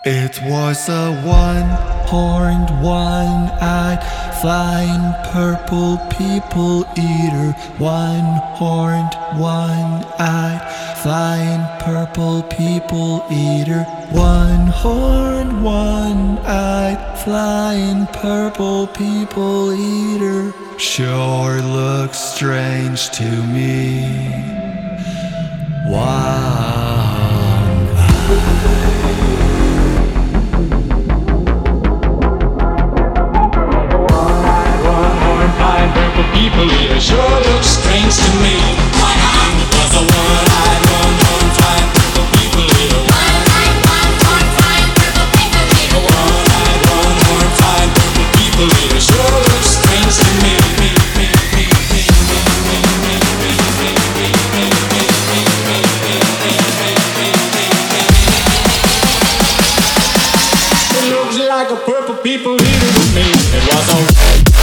It was a one-horned, one-eyed, flying purple people eater. One-horned, one-eyed, flying purple people eater. One-horned, one-eyed, flying purple people eater. Sure looks strange to me. People here sure look strange to me. It was a one-eyed, one-horned, purple people here. One-eyed, one-horned, purple people here. One-eyed, one-horned, purple people here sure look strange to me. It looks like a purple people eater to me. It was a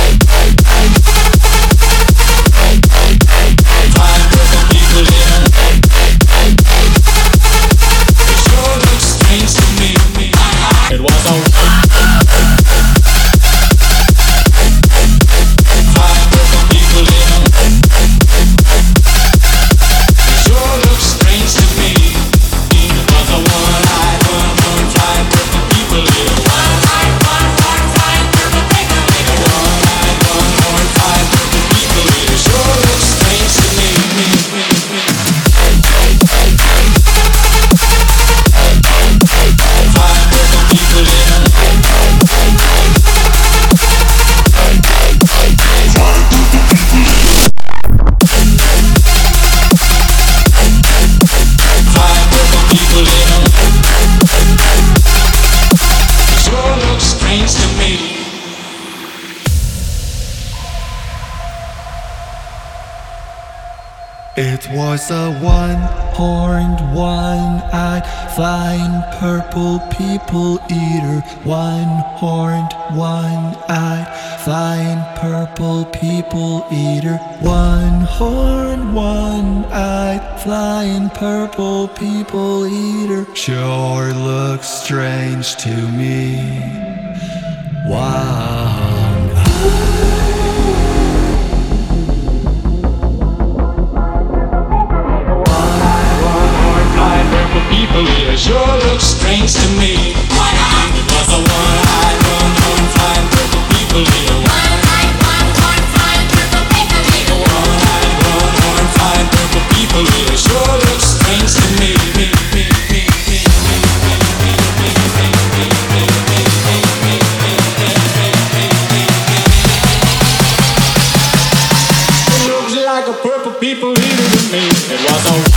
It was a one-horned, one-eyed, flying purple people eater. One-horned, one-eyed, flying purple people eater. One-horned, one-eyed, flying purple people eater. Sure looks strange to me. People here sure look strange to me. It was a one-eyed, one-horned, purple people here. One-eyed, one-horned, purple people here. One-eyed, one-horned, purple people here sure look strange to me. It looks like a purple people eater to me. It was a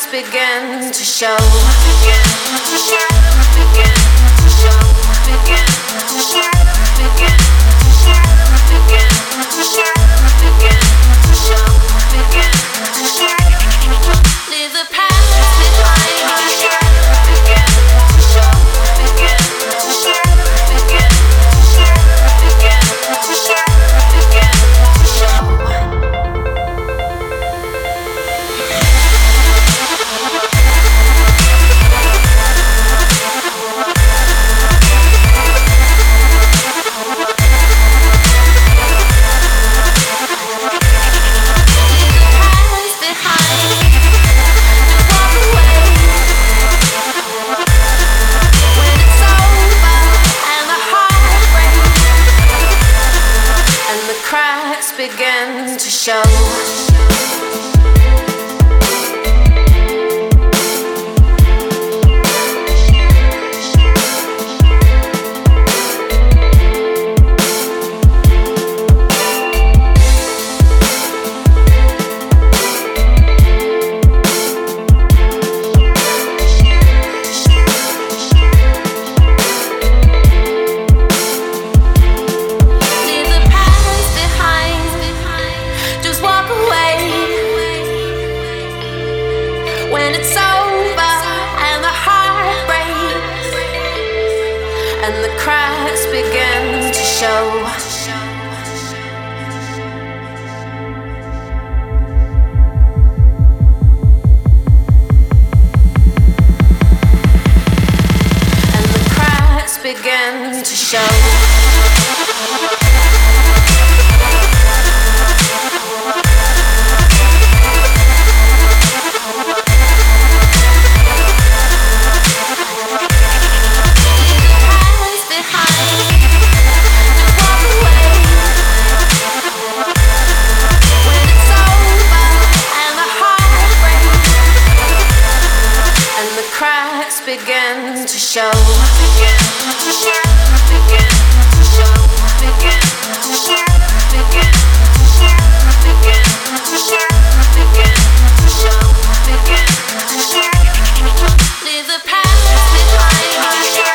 begin to show. Leave the past begin to show. Begin to show. Begin to show. Leave the past behind.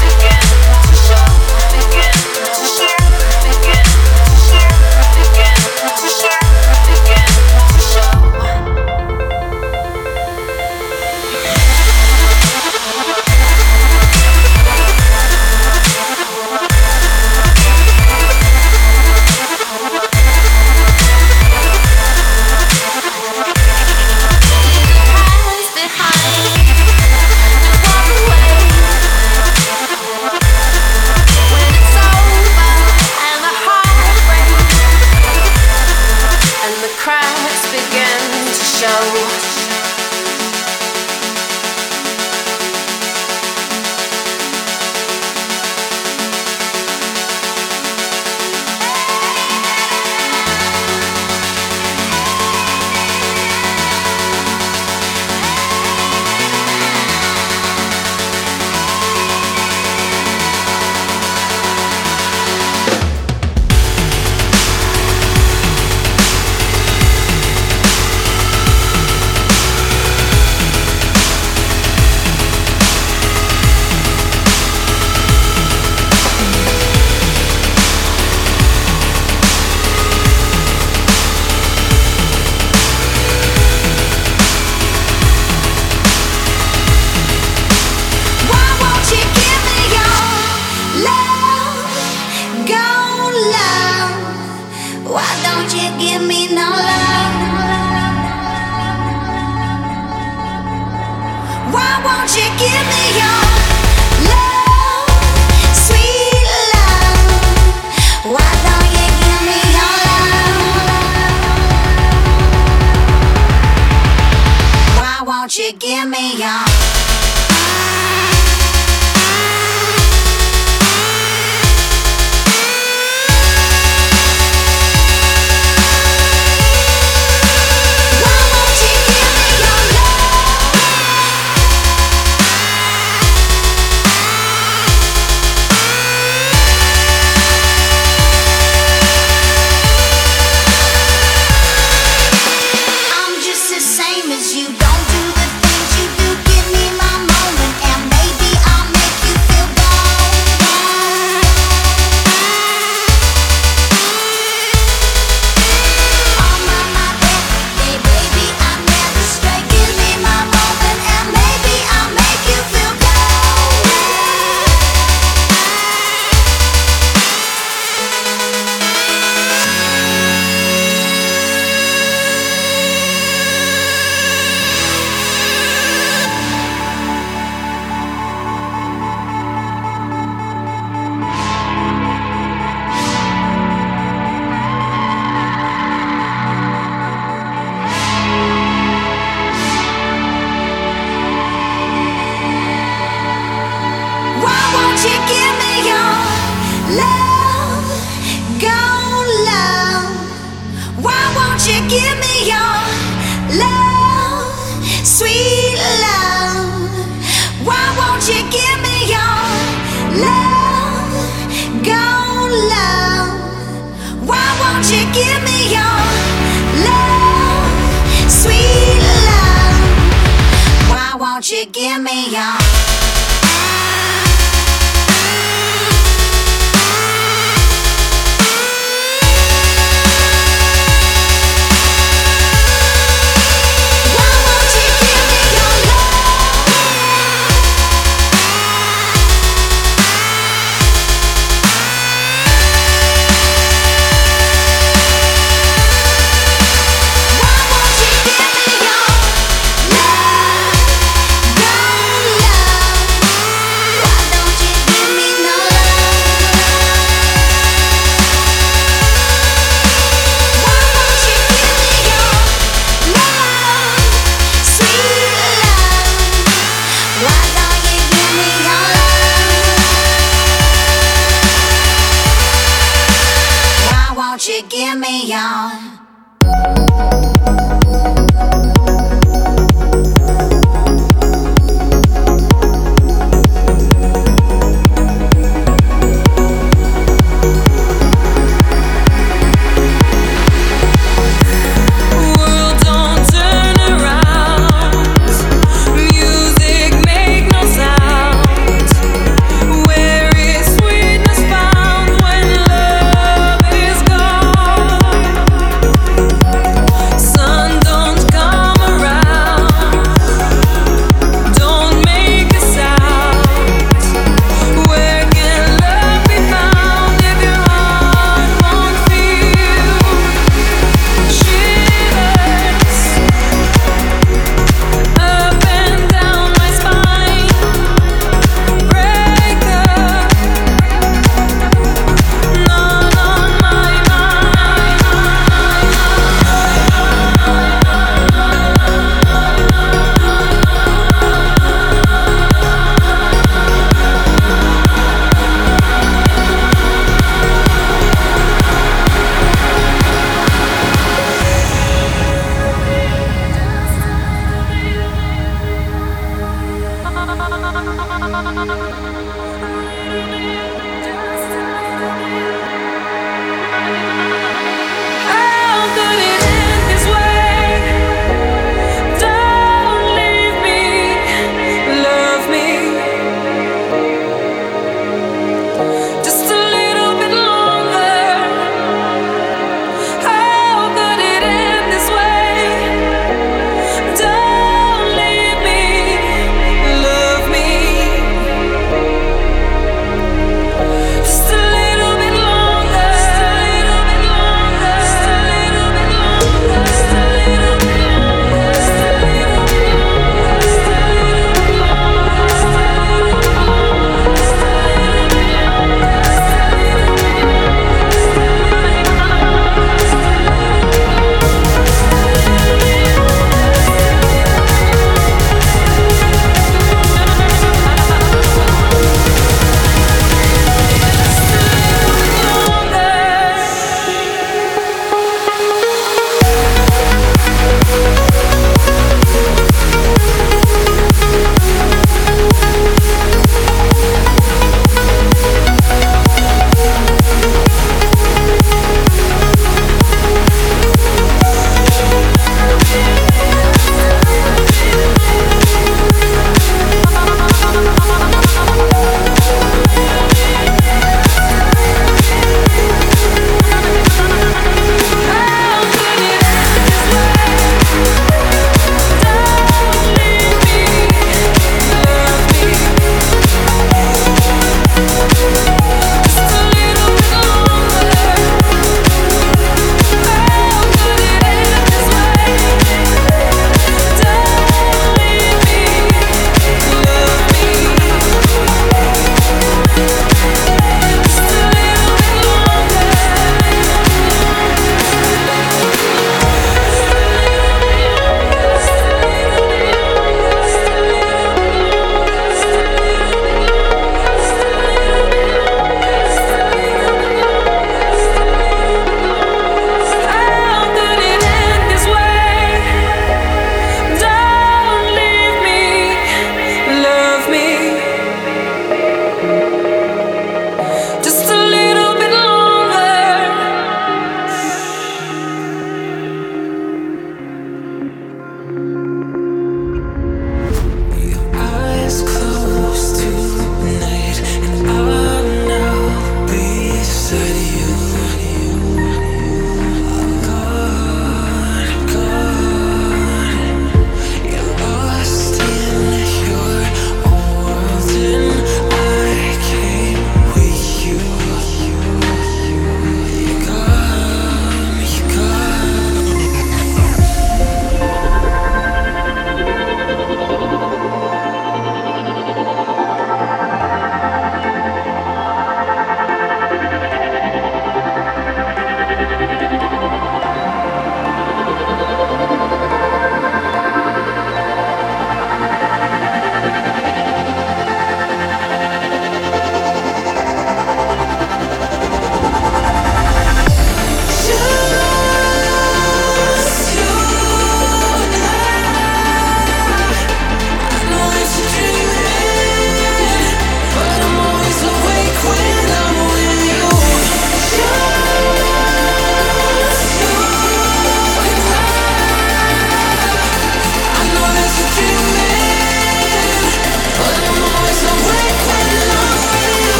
Give me your I'm just the same as you. Don't do the give me your love.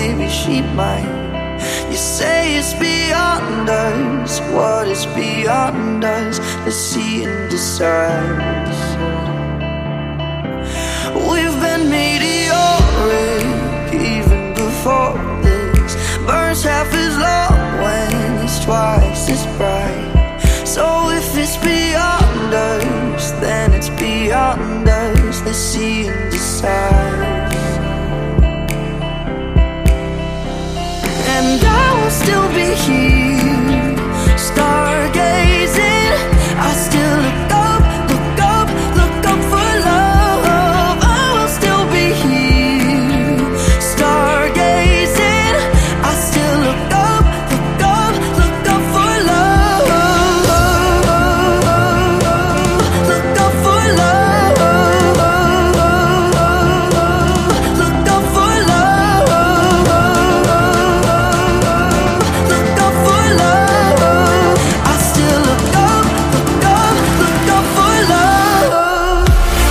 maybe she might. You say it's beyond us. What is beyond us? Let's see and decide. We've been meteoric even before this. Burns half as long when it's twice as bright. So if it's beyond us, then it's beyond us. Let's see and decide. And I will still be here, stargazing. I still look up, look up, look up for love. I will still be here, stargazing. I still look up, look up, look up for love. Look up for love. Look up for love. Look up for love. I still look up, look up, look up for love.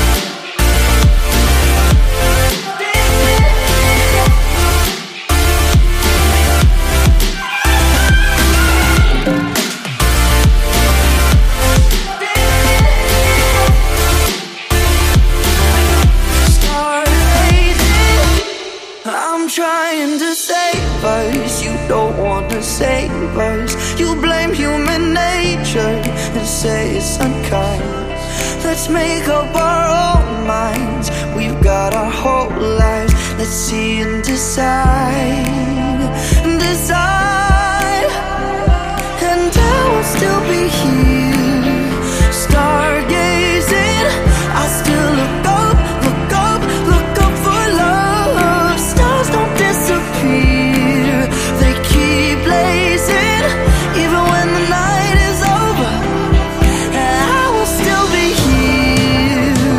Stargazing. I'm trying to save us. You don't wanna save us. You blame human nature and say it's unkind. Let's make up our own minds. We've got our whole lives. Let's see and decide. Decide. And I will still be here, stargazing. I still look up, look up, look up for love. Stars don't disappear, they keep blazing, even when the night is over. And I will still be here,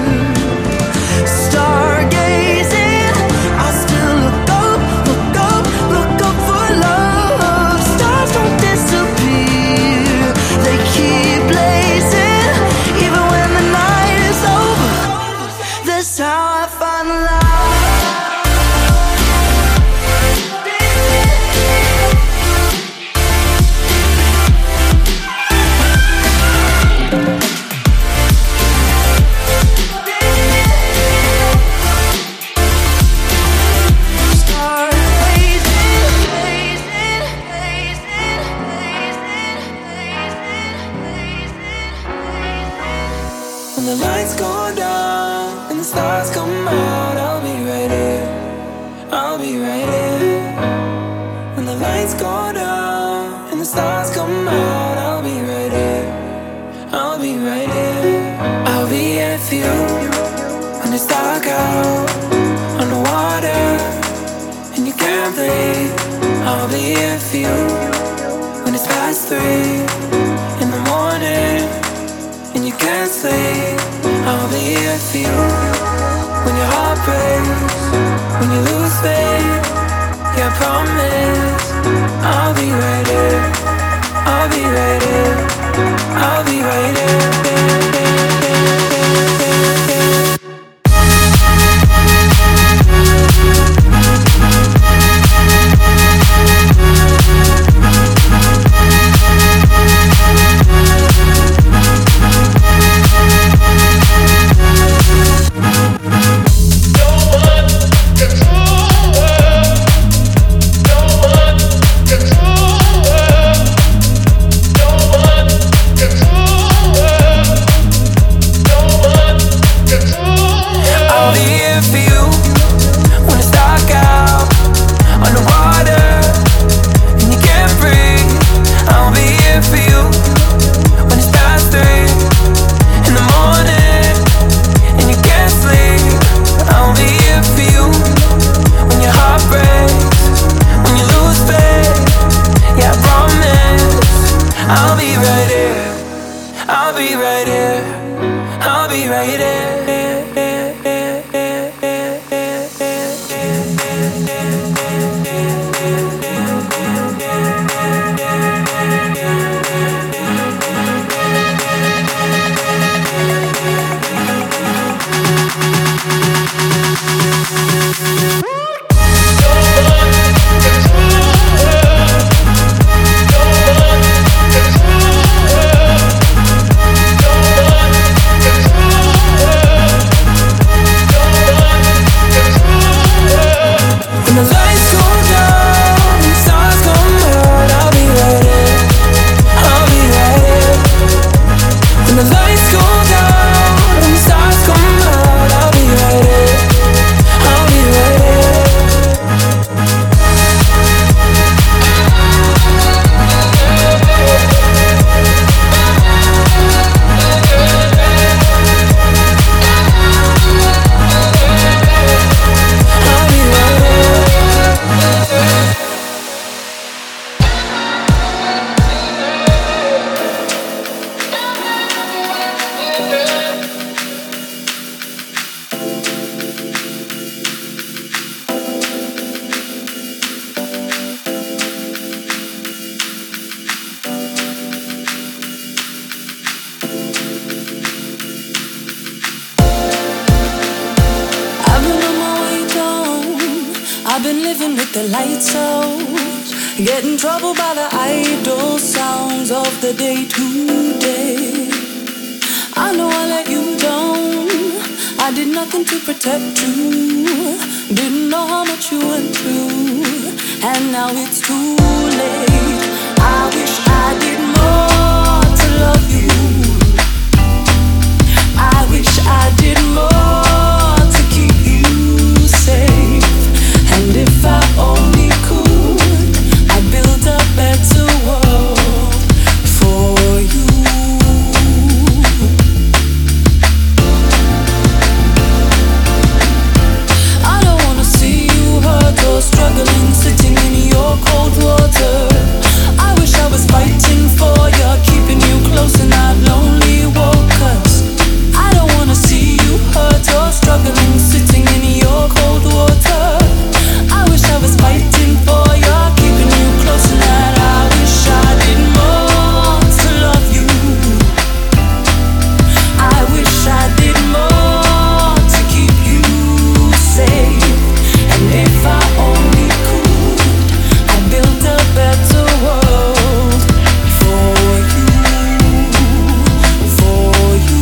stargazing. I still look up, look up, look up for love. Stars don't disappear, they keep blazing, even when the night is over. That's how I find love. When the lights go down and the stars come out, I'll be right here. I'll be right here. When the lights go down and the stars come out, I'll be right here. I'll be right here. I'll be here for you when it's dark out, underwater, and you can't breathe. I'll be here for you when it's past 3 in the morning and you can't sleep. I'll be here for you when your heart breaks, when you lose faith. Yeah, I promise I'll be right here. I'll be right here. I'll be right here. Control with the lights out. Get in trouble by the idle sounds of the day to day. I know I let you down. I did nothing to protect you. Didn't know how much you went through. And now it's too late. I wish I did more to love you. I wish I did more to keep you safe. And if I only could, I'd build a better world for you. I don't wanna see you hurt or struggling, sitting in your cold water. I wish I was fighting for you, keeping you close in that lonely walk. 'Cause I don't wanna see you hurt or struggling, sitting in your cold water. I wish I was fighting for you, keeping you close in that. I wish I did more to love you. I wish I did more to keep you safe. And if I only could, I'd build a better world for you, for you.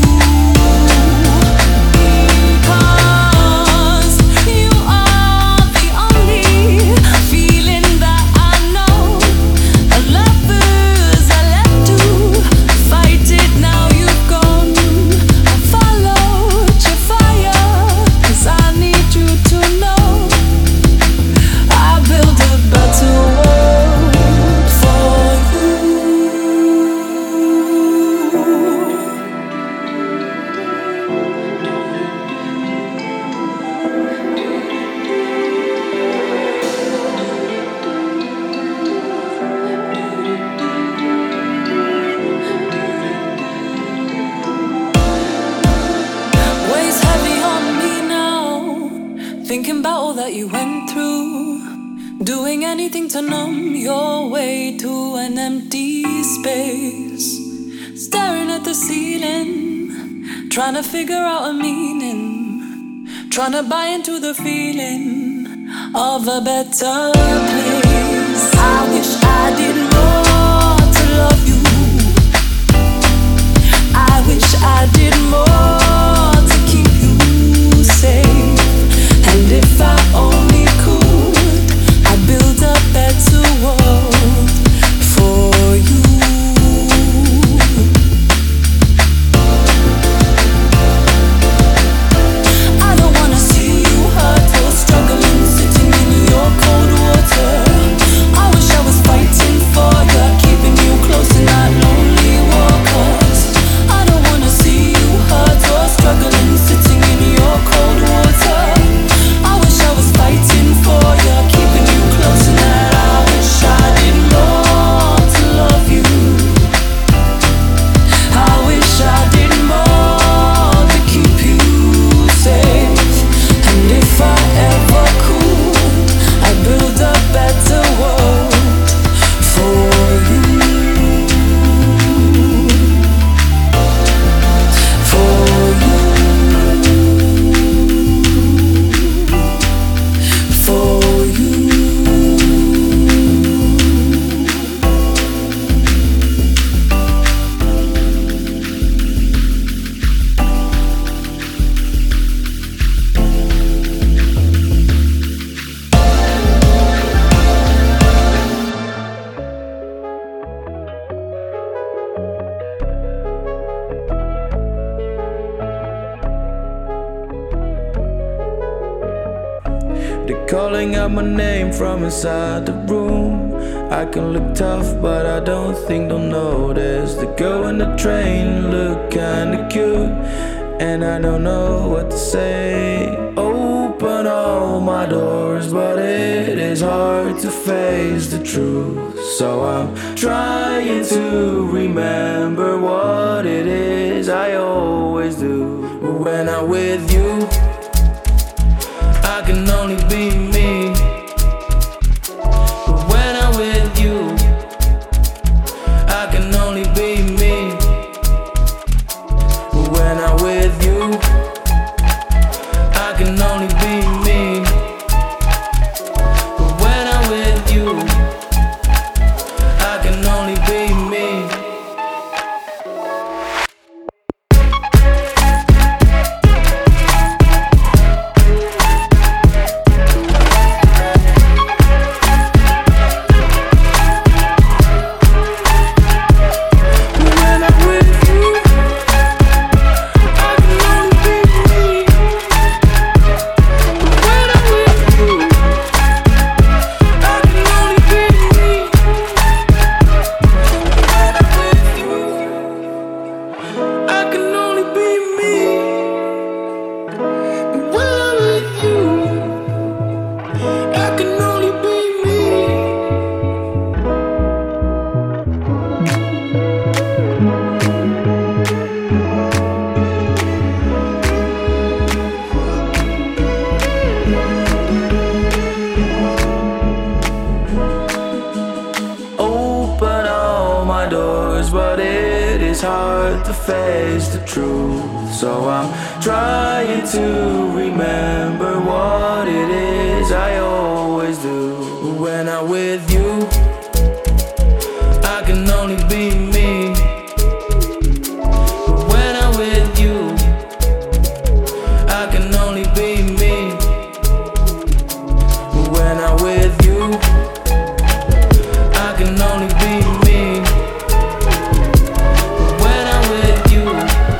Because you are the only feeling that I know. Lovers I left to fight it, now you've gone. I followed your fire, 'cause I need you to know I build a better world for you. Weighs heavy on me now, thinking about all that you went through. Doing anything to numb your way to an empty space. Staring at the ceiling, trying to figure out a meaning. Trying to buy into the feeling of a better place. I wish I did more to love you. I wish I did more to keep you safe. And if I only could, I'd build a better world for you. I don't wanna see you hurt or struggling, sitting in your cold water. I wish I was fighting for you, keeping you close in that lonely walk. 'Cause I don't wanna see you hurt or struggling, sitting in your cold water. I wish I was fighting for you, keeping you close in that. I wish I did more to love you. I wish I did more to keep you safe. And if I ever could, I'd build a better world for you. For you. For you. They're calling out my name from inside the room. I can look tough, but I don't think they'll notice. The girl in the train look kinda cute, and I don't know what to say. Open all my doors, but it is hard to face the truth. So I'm trying to remember what it is I always do. When I'm with you, I can only be me. But when I'm with you, I can only be me. But when I'm with you, I can only be me. But when it's hard to face the truth. So I'm trying to remember what it is I always do. When I'm with you, I can only be me. But when I'm with you, I can only be me. But when I'm with you, I can only be me. But when I'm with you,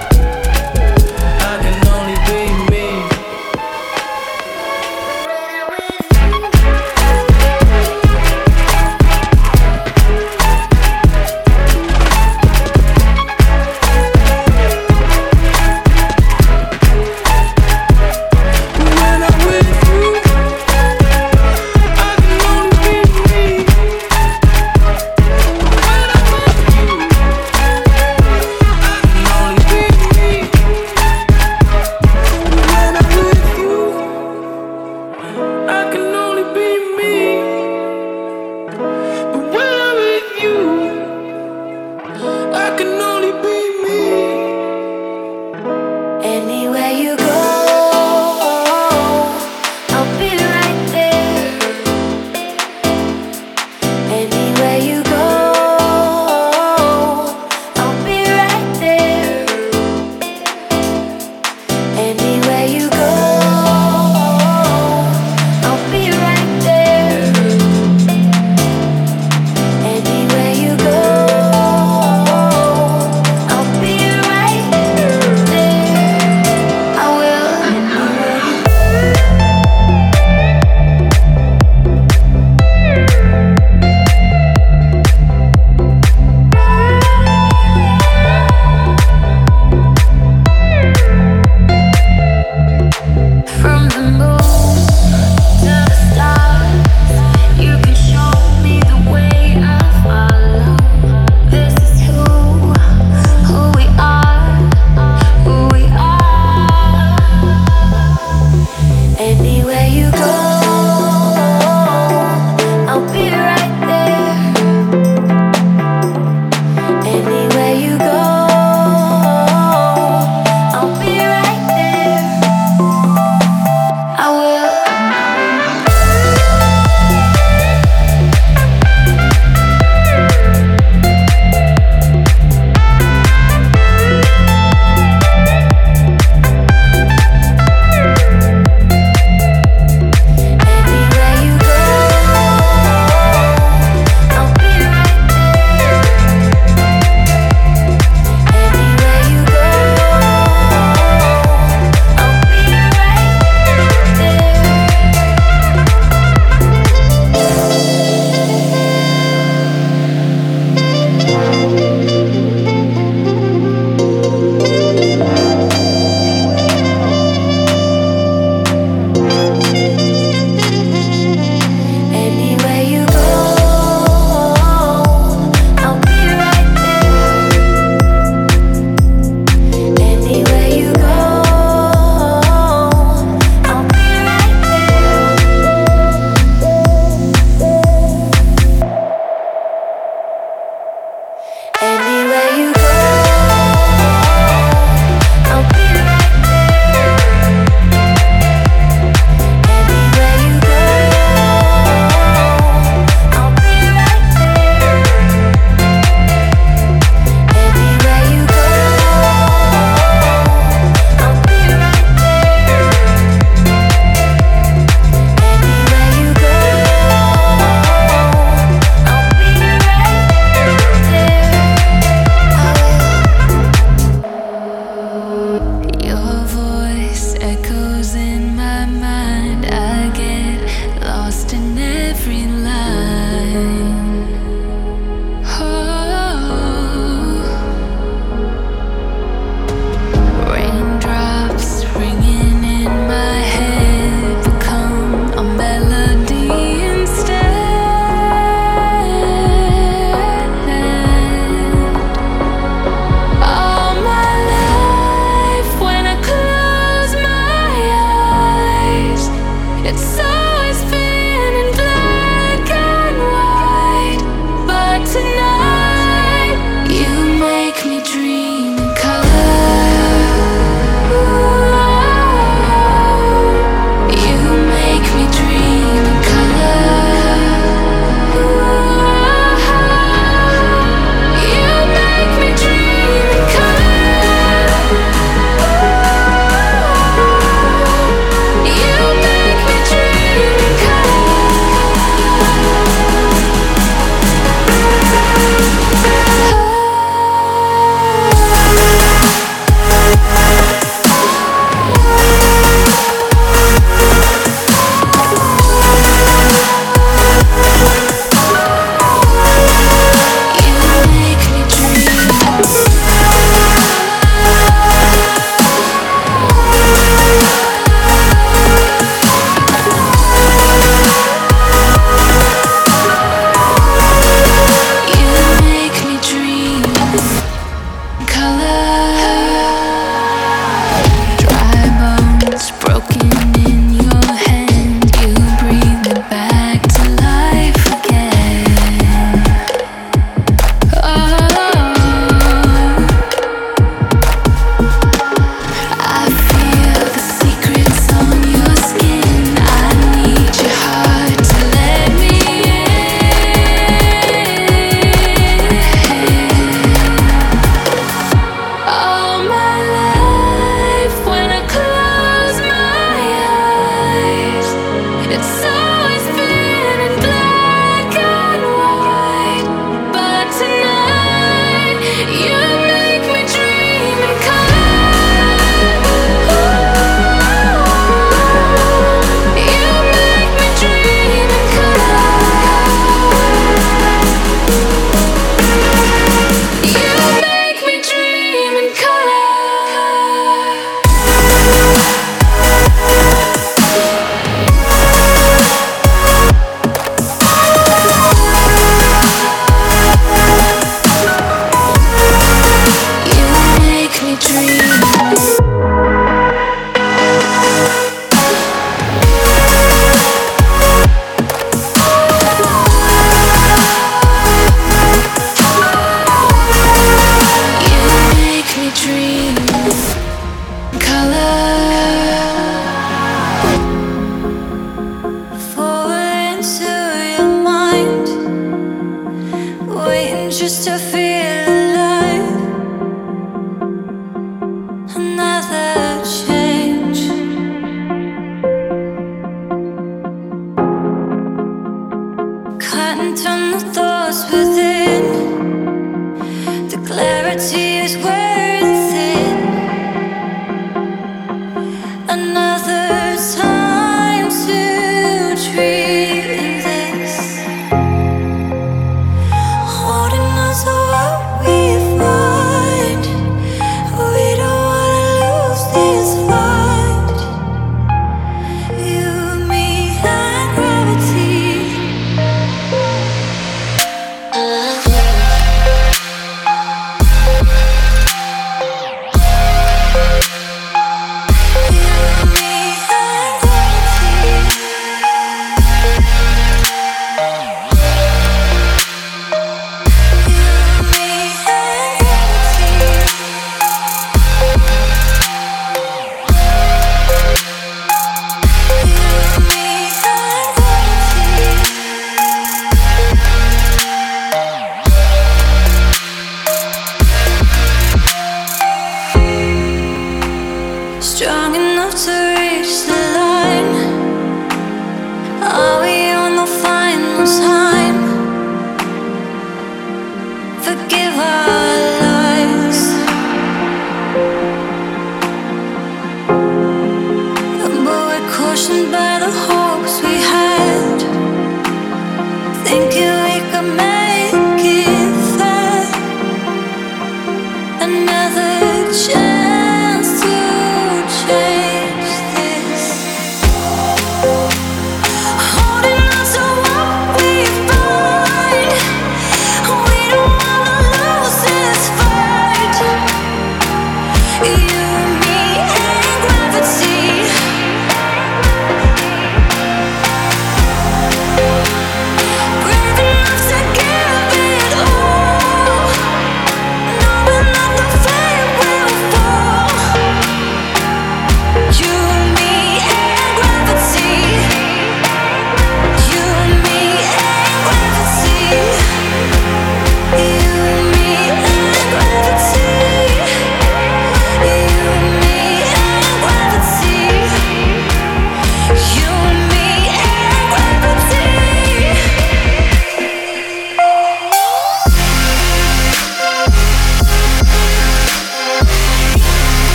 I can only be me. just to feel alive. Another change. Cutting through the thoughts within. The clarity is wearing thin. Another time to dream this. Holding on to what we find. We don't wanna lose this fight. You, me, and gravity. Strong enough to reach the line. Are we on the final time? Forgive our lies. But we're cautioned by the hopes we had, thinking we could make it fair. Another chance to change this. Holding on to what we find. We don't wanna lose this fight. You, me, and gravity. Brave enough to give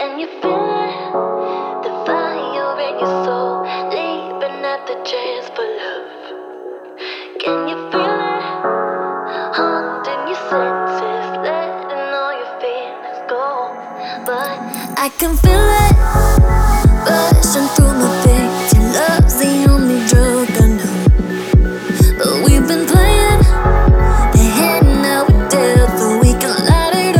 Can you feel it? The fire in your soul, leaping at the chance for love. Can you feel it? Haunting your senses, letting all your feelings go. But I can feel it rushing through my veins. Your love's the only drug I know. But we've been playing the hand now we're dead, so we can light it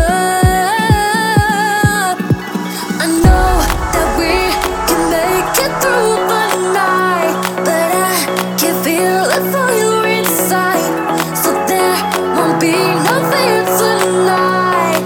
up. I know that we can make it through the night, but I can feel the fire inside, so there won't be no fear tonight.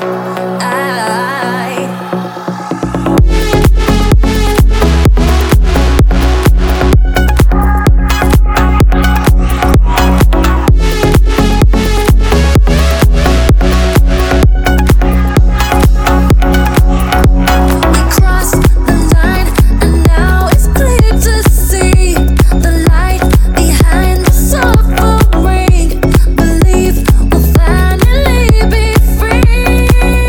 We crossed the line, and now it's clear to see the light behind the suffering. Believe we'll finally be free.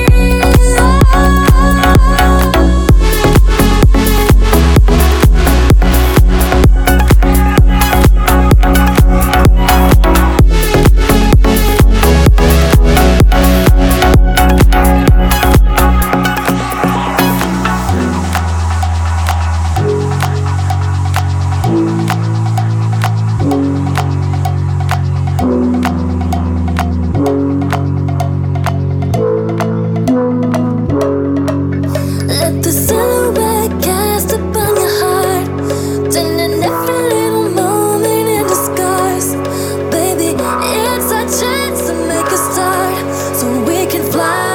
Let the silhouette cast upon your heart, turning every little moment into scars. Baby, it's our chance to make a start, so we can fly.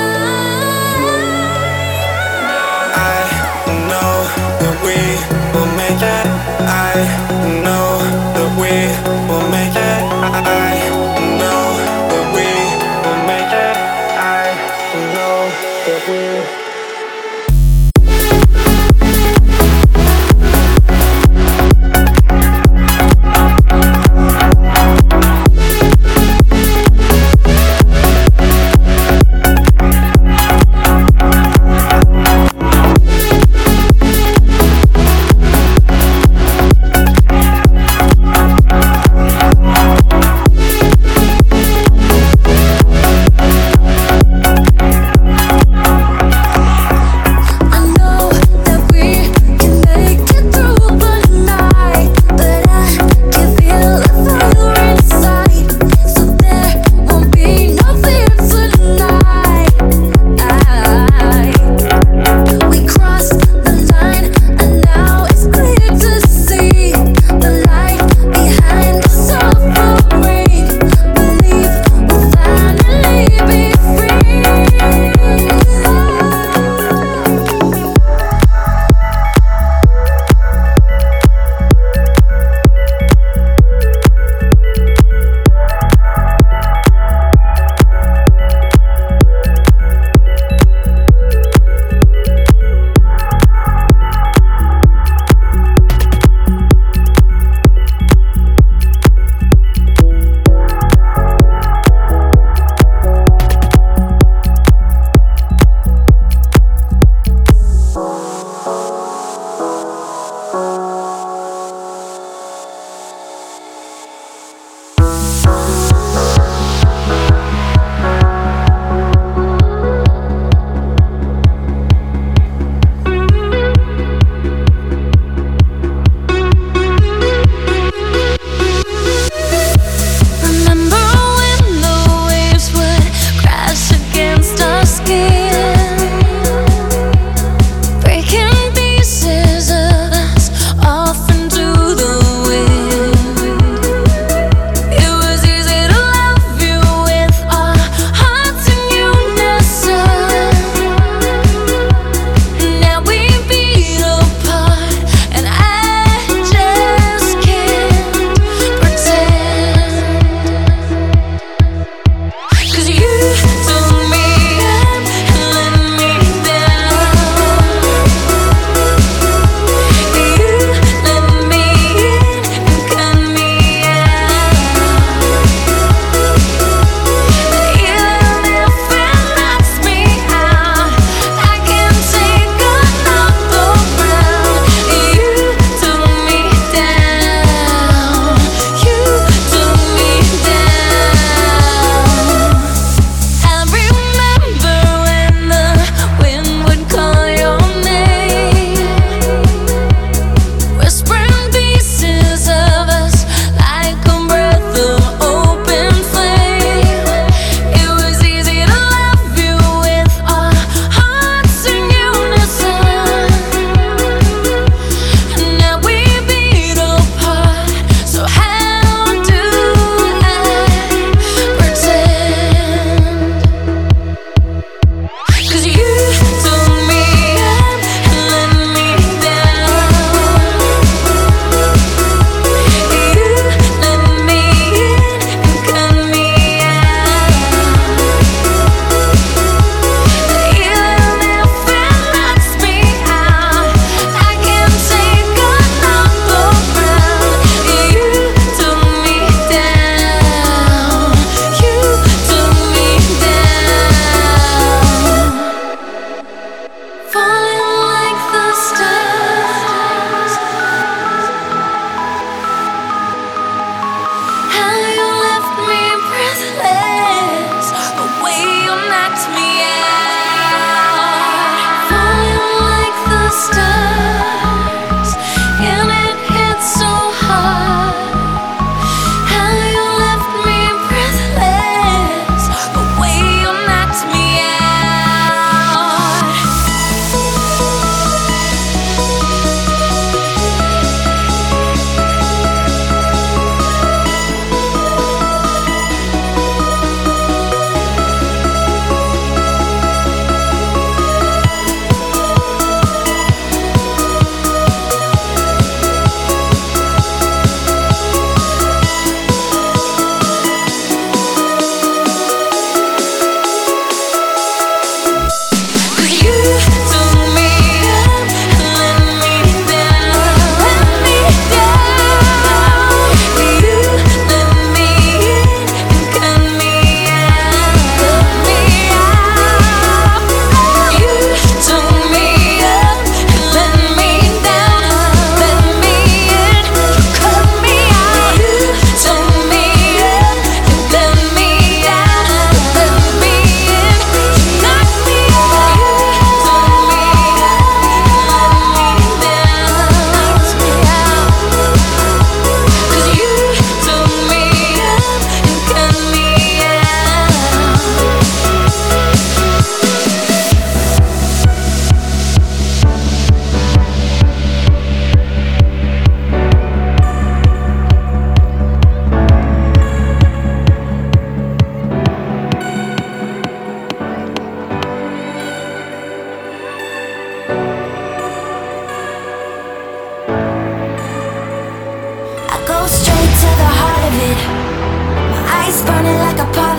I know that we will make it. I know that we will make it. I know that we will make it. I know that we.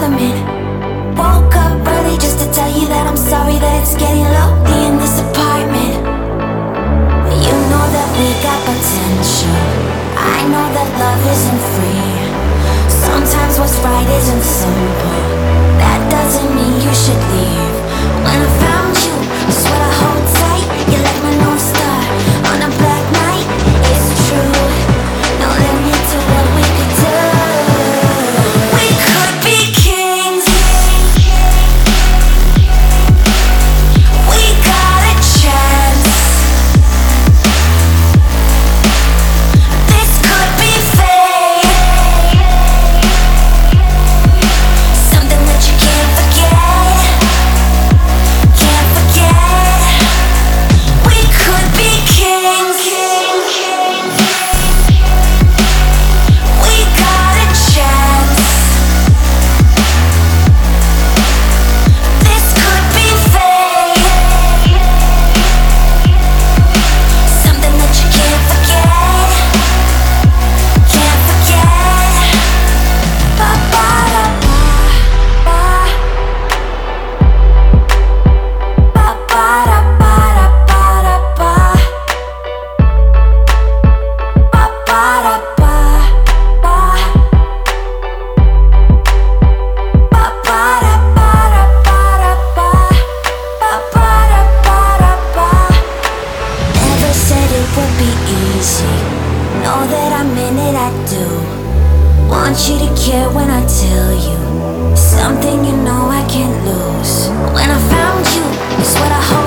apartment. Woke up early just to tell you that I'm sorry that it's getting lonely in this apartment. You know that we got potential. I know that love isn't free. Sometimes what's right isn't simple. That doesn't mean you should leave. When I found you, I swear I hold tight. You're like my North Star on a black night. It's true, no limit to what we could do. We could be kings. We got a chance. This could be fate. Something that you can't forget. Can't forget. We could be kings. We got a chance. This could be fate. Something that you can't forget. Can't forget. Ba ba da ba. Ba ba da ba da ba da ba. Ba ba da ba. Ba. Ba ba da ba da ba da ba. Ba ba da ba da ba. Never said it would be easy. Know that I'm in it, I do. Want you to care when I tell you something you know I can't lose. When I found you, it's what I hold